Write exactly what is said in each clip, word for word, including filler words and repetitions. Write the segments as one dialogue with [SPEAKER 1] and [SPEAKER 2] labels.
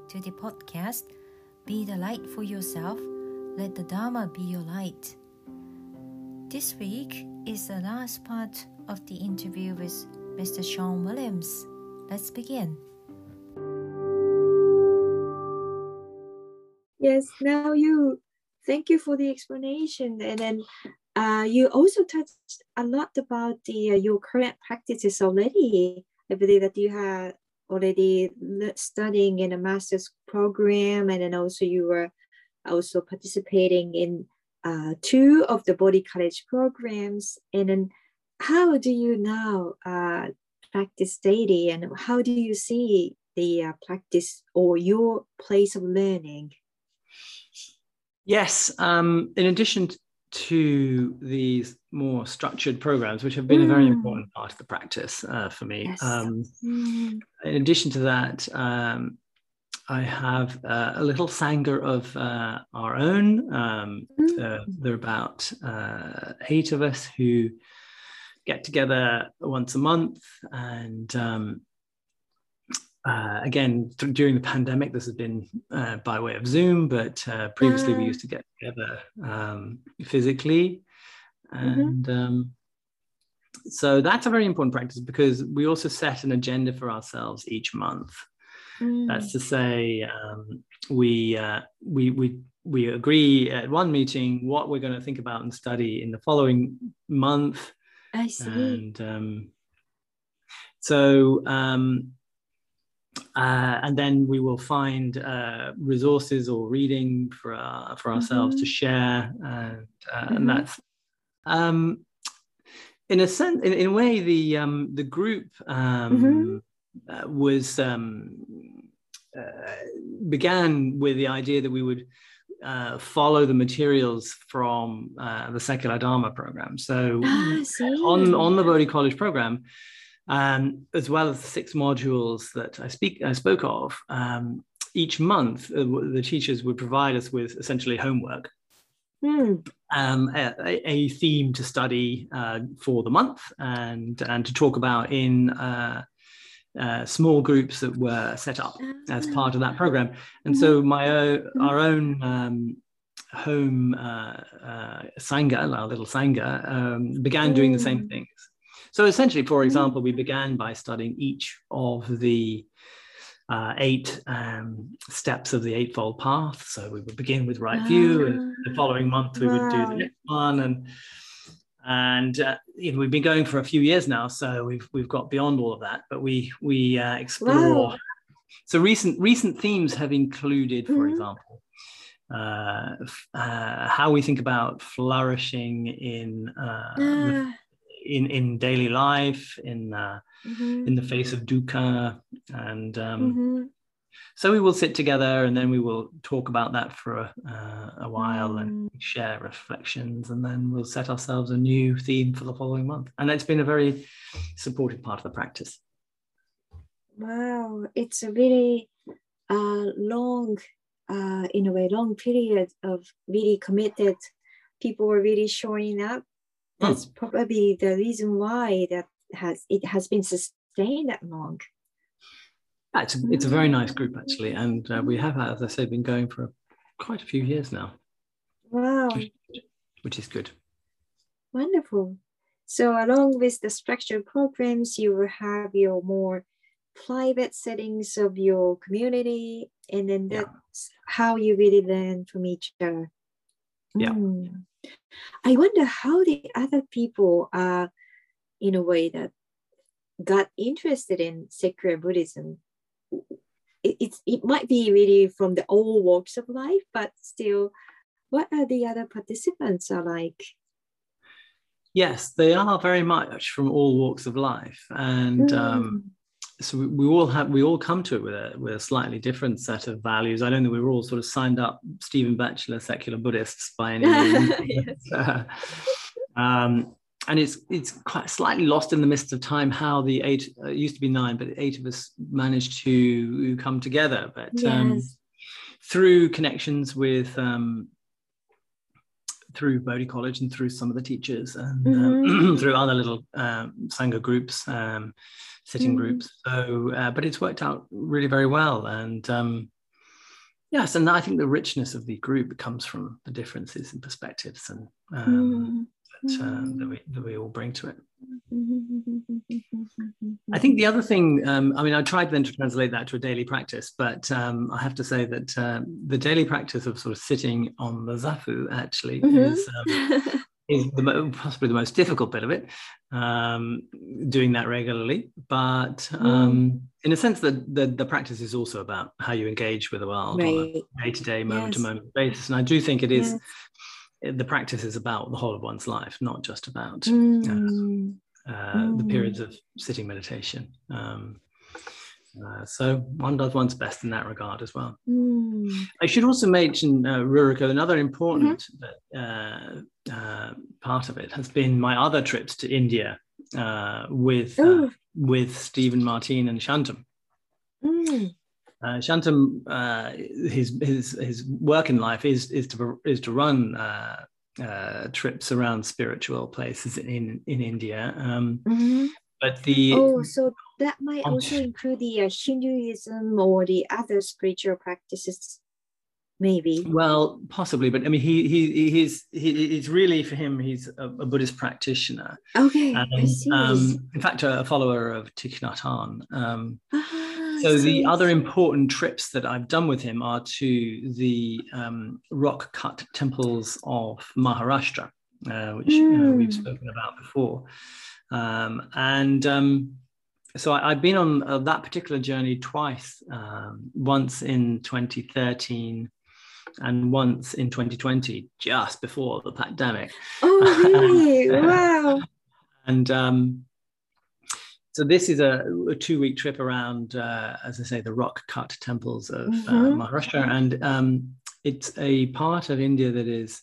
[SPEAKER 1] to the podcast Be the Light for Yourself, Let the Dharma Be Your Light. This week is the last part of the interview with Mister Sean Williams. Let's begin.
[SPEAKER 2] Yes, now you, thank you for the explanation. And then uh, you also touched a lot about the uh, your current practices already. I believe that you had already studying in a master's program, and then also you were also participating in uh, two of the Bodhi College programs. And then how do you now uh, practice daily, and how do you see the uh, practice or your place of learning?
[SPEAKER 3] Yes, um, in addition to these more structured programs, which have been mm. a very important part of the practice uh, for me,
[SPEAKER 2] yes.
[SPEAKER 3] um,
[SPEAKER 2] mm.
[SPEAKER 3] in addition to that, um, I have uh, a little Sangha of uh, our own. Um, mm. uh, there are about uh, eight of us who get together once a month, and um, Uh, again, th- during the pandemic, this has been uh, by way of Zoom, but uh, previously we used to get together um, physically. And mm-hmm. um, so that's a very important practice, because we also set an agenda for ourselves each month. Mm. That's to say, um, we, uh, we, we, we agree at one meeting what we're going to think about and study in the following month.
[SPEAKER 2] I see.
[SPEAKER 3] And um, so... Um, Uh, and then we will find uh, resources or reading for uh, for ourselves mm-hmm. to share, and, uh, mm-hmm. and that's um, in a sense, in, in a way, the um, the group um, mm-hmm. uh, was um, uh, began with the idea that we would uh, follow the materials from uh, the Secular Dharma program. So
[SPEAKER 2] ah,
[SPEAKER 3] on on the Bodhi College program. Um, as well as the six modules that I speak I spoke of, um, each month uh, the teachers would provide us with essentially homework, mm. um, a, a theme to study uh, for the month, and and to talk about in uh, uh, small groups that were set up as part of that program. And so my own, our own um, home uh, uh, Sangha, our little Sangha, um, began doing the same things. So essentially, for example, we began by studying each of the uh, eight um, steps of the Eightfold Path. So we would begin with right view, and the following month we wow. would do the next one, and and uh, you know, we've been going for a few years now, so we've we've got beyond all of that. But we we uh, explore. Wow. So recent recent themes have included, for mm-hmm. example, uh, uh, how we think about flourishing in. Uh, the, In, in daily life, in uh, mm-hmm. in the face of dukkha, and um, mm-hmm. so we will sit together, and then we will talk about that for a, uh, a while, mm. and share reflections, and then we'll set ourselves a new theme for the following month. And it's been a very supportive part of the practice.
[SPEAKER 2] Wow, it's a really uh, long, uh, in a way, long period of really committed. People were really showing up. That's mm. probably the reason why that has it has been sustained that long.
[SPEAKER 3] Yeah, it's, a, it's a very nice group, actually. And uh, we have, as I said, been going for quite a few years now.
[SPEAKER 2] Wow.
[SPEAKER 3] Which, which is good.
[SPEAKER 2] Wonderful. So along with the structured programs, you will have your more private settings of your community. And then that's yeah. how you really learn from each other.
[SPEAKER 3] Yeah.
[SPEAKER 2] Mm. I wonder how the other people are, in a way, that got interested in secular Buddhism. It, it's, it might be really from the all walks of life, but still, what are the other participants are like?
[SPEAKER 3] Yes, they are very much from all walks of life. And mm. um, so we, we all have, we all come to it with a, with a slightly different set of values. I don't think we were all sort of signed up Stephen Batchelor secular Buddhists by any means.
[SPEAKER 2] Yes.
[SPEAKER 3] uh, um, and it's it's quite slightly lost in the midst of time how the eight, uh, it used to be nine, but eight of us managed to come together. But
[SPEAKER 2] yes.
[SPEAKER 3] um, through connections with, um, through Bodhi College and through some of the teachers, and mm-hmm. um, through other little um, Sangha groups, um, sitting mm-hmm. groups. So, uh, but it's worked out really very well. And um, Yes, and I think the richness of the group comes from the differences in perspectives and um, that, uh, that, we, that we all bring to it. I think the other thing, um, I mean, I tried then to translate that to a daily practice, but um, I have to say that uh, the daily practice of sort of sitting on the zafu actually mm-hmm. is um, is the, possibly the most difficult bit of it, um, doing that regularly. But um, mm. in a sense, that the, the practice is also about how you engage with the world right. on a day-to-day, moment-to-moment yes. basis. And I do think it is, yes. the practice is about the whole of one's life, not just about mm. uh, uh, mm. the periods of sitting meditation. Um, Uh, so one does one's best in that regard as well. Mm. I should also mention, uh, Ruriko, another important mm-hmm. uh, uh, part of it has been my other trips to India uh, with uh, with Stephen Martin and Shantam. Mm. Uh, Shantam, uh, his his his work in life is is to is to run uh, uh, trips around spiritual places in in India. Um, mm-hmm. But the
[SPEAKER 2] oh, so that might also include the uh, Hinduism or the other spiritual practices, maybe.
[SPEAKER 3] Well, possibly, but I mean, he he he's he, it's really for him. He's a, a Buddhist practitioner.
[SPEAKER 2] Okay,
[SPEAKER 3] and,
[SPEAKER 2] I see.
[SPEAKER 3] Um, in fact, a, a follower of Thich Nhat Hanh. Um, ah, so the other important trips that I've done with him are to the um, rock-cut temples of Maharashtra, uh, which mm. uh, we've spoken about before. Um, and um, so I, I've been on uh, that particular journey twice, um, once in twenty thirteen and once in twenty twenty, just before the pandemic.
[SPEAKER 2] Oh, really? Wow.
[SPEAKER 3] And um, so this is a, a two-week trip around, uh, as I say, the rock-cut temples of mm-hmm. uh, Maharashtra. And um, it's a part of India that is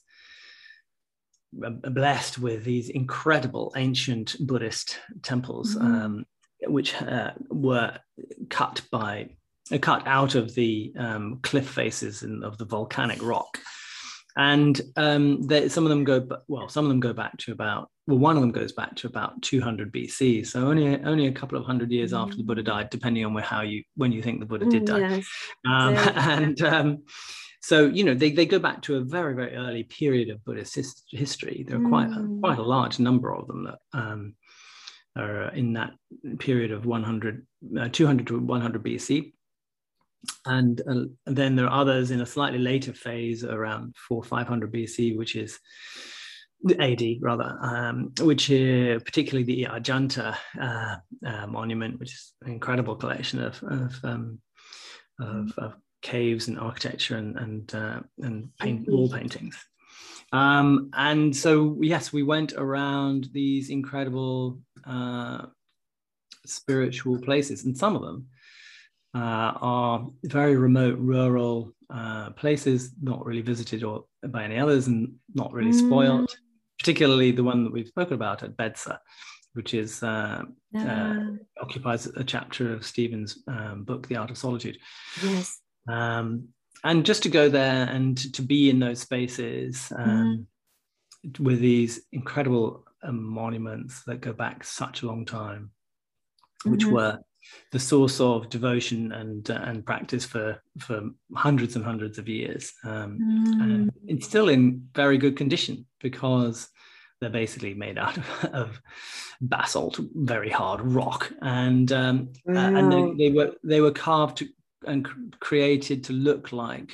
[SPEAKER 3] blessed with these incredible ancient Buddhist temples, mm-hmm. um, which uh, were cut by uh, cut out of the um, cliff faces and of the volcanic rock, and um, they, some of them go well. Some of them go back to about well, one of them goes back to about two hundred B C. So only only a couple of hundred years mm-hmm. after the Buddha died, depending on where how you when you think the Buddha did die,
[SPEAKER 2] yes.
[SPEAKER 3] um, and. Um, So, you know, they, they go back to a very, very early period of Buddhist his, history. There are quite, mm. a, quite a large number of them that um, are in that period of one hundred, uh, two hundred to one hundred B C. And, uh, and then there are others in a slightly later phase around four hundred, five hundred B C, which is A D rather, um, which is particularly the Ajanta uh, uh, monument, which is an incredible collection of, of, um, of, of caves and architecture and and uh, and paint, wall paintings. Um, and so yes, we went around these incredible uh, spiritual places, and some of them uh, are very remote, rural uh, places, not really visited or by any others, and not really spoiled. Mm. Particularly the one that we've spoken about at Bedsa, which is uh, uh. Uh, occupies a chapter of Stephen's um, book, The Art of Solitude.
[SPEAKER 2] Yes.
[SPEAKER 3] Um, and just to go there and to be in those spaces um, mm. with these incredible um, monuments that go back such a long time, which mm-hmm. were the source of devotion and uh, and practice for for hundreds and hundreds of years, um, mm. and it's still in very good condition because they're basically made out of, of basalt, very hard rock, and um, wow. uh, and they, they were they were carved to, and created to look like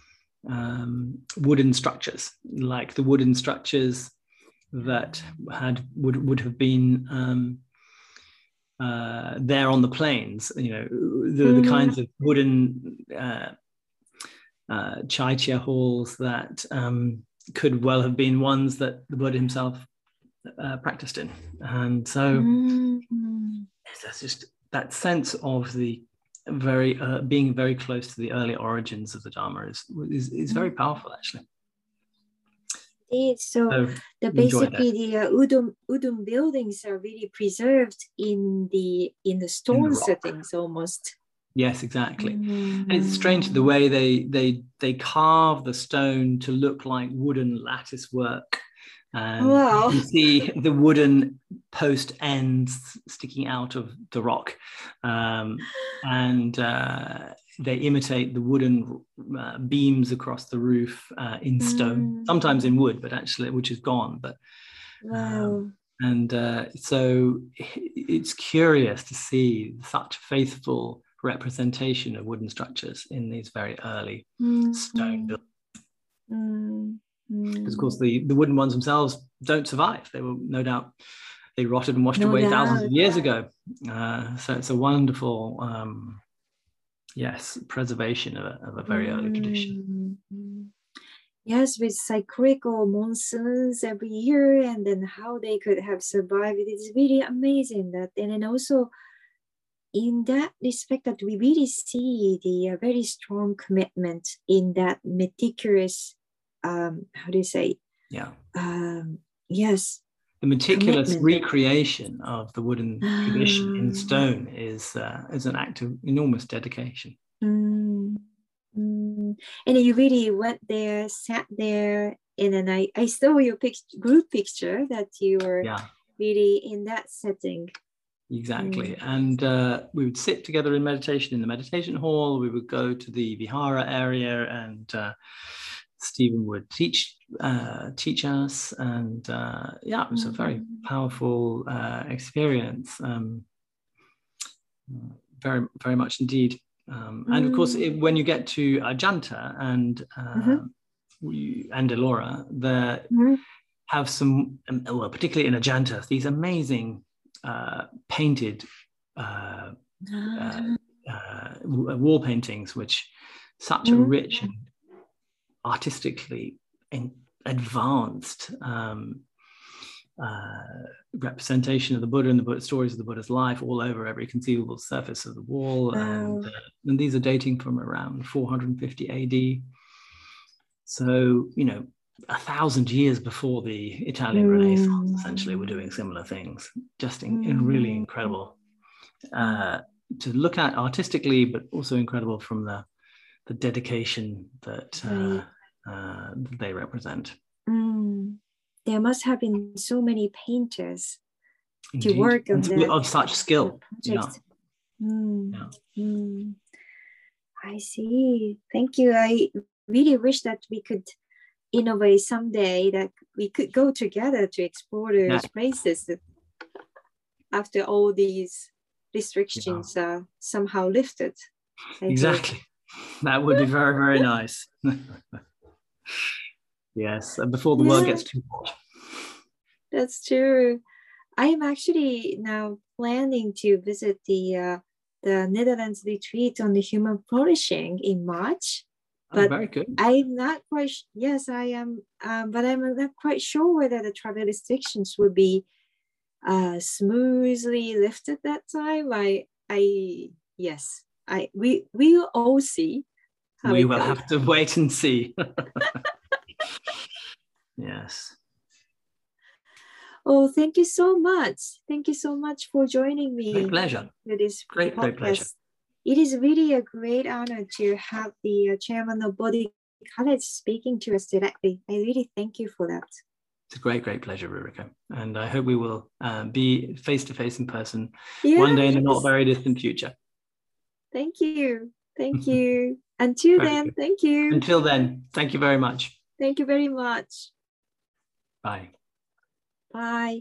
[SPEAKER 3] um, wooden structures, like the wooden structures that had would would have been um, uh, there on the plains. You know, the, mm-hmm. the kinds of wooden uh, uh, chaitya halls that um, could well have been ones that the Buddha himself uh, practiced in, and so mm-hmm. that's just that sense of the very uh, being very close to the early origins of the Dharma is is, is very powerful, actually.
[SPEAKER 2] So, so the basically the uh, udon udon buildings are really preserved in the in the stone in the settings almost.
[SPEAKER 3] Yes, exactly. Mm. And it's strange the way they they they carve the stone to look like wooden lattice work. And wow. You see the wooden post ends sticking out of the rock. Um, and uh, they imitate the wooden uh, beams across the roof uh, in stone,
[SPEAKER 2] Mm.
[SPEAKER 3] sometimes in wood, but actually, which is gone. But
[SPEAKER 2] Wow.
[SPEAKER 3] um, and uh, so it's curious to see such faithful representation of wooden structures in these very early
[SPEAKER 2] Mm.
[SPEAKER 3] stone buildings.
[SPEAKER 2] Mm.
[SPEAKER 3] Because of course the, the wooden ones themselves don't survive. They were no doubt, they rotted and washed
[SPEAKER 2] No
[SPEAKER 3] away
[SPEAKER 2] doubt.
[SPEAKER 3] thousands of years ago. Uh, so it's a wonderful, um, yes, preservation of a, of a very early tradition.
[SPEAKER 2] Mm. Yes, with cyclical monsoons every year, and then how they could have survived. It is really amazing that, and then also in that respect that we really see the uh, very strong commitment in that meticulous, um, how do you say?
[SPEAKER 3] Yeah.
[SPEAKER 2] Um, yes.
[SPEAKER 3] The meticulous
[SPEAKER 2] Commitment.
[SPEAKER 3] recreation of the wooden tradition in stone is uh, is an act of enormous dedication.
[SPEAKER 2] Mm, mm. And you really went there, sat there, and then I, I saw your pic- group picture that you were
[SPEAKER 3] Yeah.
[SPEAKER 2] really in that setting.
[SPEAKER 3] Exactly.
[SPEAKER 2] Mm.
[SPEAKER 3] And uh, we would sit together in meditation in the meditation hall. We would go to the vihara area, and uh, Stephen would teach uh, teach us. And uh, yeah, it was a very powerful uh, experience. Um, very, very much indeed. Um, and of course, it, when you get to Ajanta and uh,
[SPEAKER 2] Mm-hmm.
[SPEAKER 3] we, and Ellora, there
[SPEAKER 2] Mm-hmm.
[SPEAKER 3] have some, um, well, particularly in Ajanta, these amazing uh, painted uh, uh, uh, wall paintings, which such a
[SPEAKER 2] Mm-hmm.
[SPEAKER 3] rich and artistically in advanced um, uh, representation of the Buddha and the Buddha, stories of the Buddha's life all over every conceivable surface of the wall.
[SPEAKER 2] Wow.
[SPEAKER 3] And, uh, and these are dating from around four hundred fifty A D. So, you know, a thousand years before the Italian
[SPEAKER 2] Mm.
[SPEAKER 3] Renaissance, essentially, we're doing similar things. Just in, in really incredible uh, to look at artistically, but also incredible from the, the dedication that uh, uh, they represent.
[SPEAKER 2] Mm. There must have been so many painters
[SPEAKER 3] Indeed.
[SPEAKER 2] to work on
[SPEAKER 3] And
[SPEAKER 2] that
[SPEAKER 3] of such skill. Yeah.
[SPEAKER 2] project. Mm.
[SPEAKER 3] Yeah.
[SPEAKER 2] Mm. I see. Thank you. I really wish that we could innovate someday, that we could go together to explore those
[SPEAKER 3] Yeah.
[SPEAKER 2] places that after all these restrictions yeah. are somehow lifted. I
[SPEAKER 3] exactly. Hope. That would be very, very nice. Yes, and before the yeah. world gets too hot.
[SPEAKER 2] That's true. I am actually now planning to visit the uh, the Netherlands retreat on the human flourishing in March. But
[SPEAKER 3] oh, very good.
[SPEAKER 2] I'm not quite, yes, I am, um, but I'm not quite sure whether the travel restrictions will be uh, smoothly lifted that time. I, I, yes, I, we, we will all see. How
[SPEAKER 3] we
[SPEAKER 2] it
[SPEAKER 3] will
[SPEAKER 2] goes.
[SPEAKER 3] have to wait and see. Yes.
[SPEAKER 2] Oh, thank you so much. Thank you so much for joining me.
[SPEAKER 3] Great pleasure.
[SPEAKER 2] For this
[SPEAKER 3] great,
[SPEAKER 2] podcast.
[SPEAKER 3] great pleasure.
[SPEAKER 2] It is really a great honor to have the uh, chairman of Bodhi College speaking to us directly. I really thank you for that.
[SPEAKER 3] It's a great, great pleasure, Rurika. And I hope we will uh, be face-to-face in person
[SPEAKER 2] yes.
[SPEAKER 3] one day in the not very distant future.
[SPEAKER 2] Thank you. Thank you. Until
[SPEAKER 3] very
[SPEAKER 2] then,
[SPEAKER 3] good.
[SPEAKER 2] thank you.
[SPEAKER 3] Until then, thank you very much.
[SPEAKER 2] Thank you very much.
[SPEAKER 3] Bye.
[SPEAKER 2] Bye.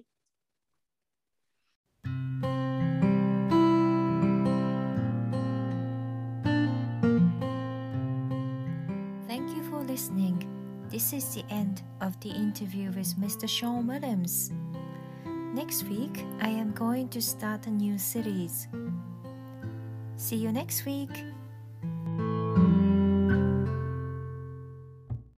[SPEAKER 1] Thank you for listening. This is the end of the interview with Mister Sean Williams. Next week, I am going to start a new series. See you next week.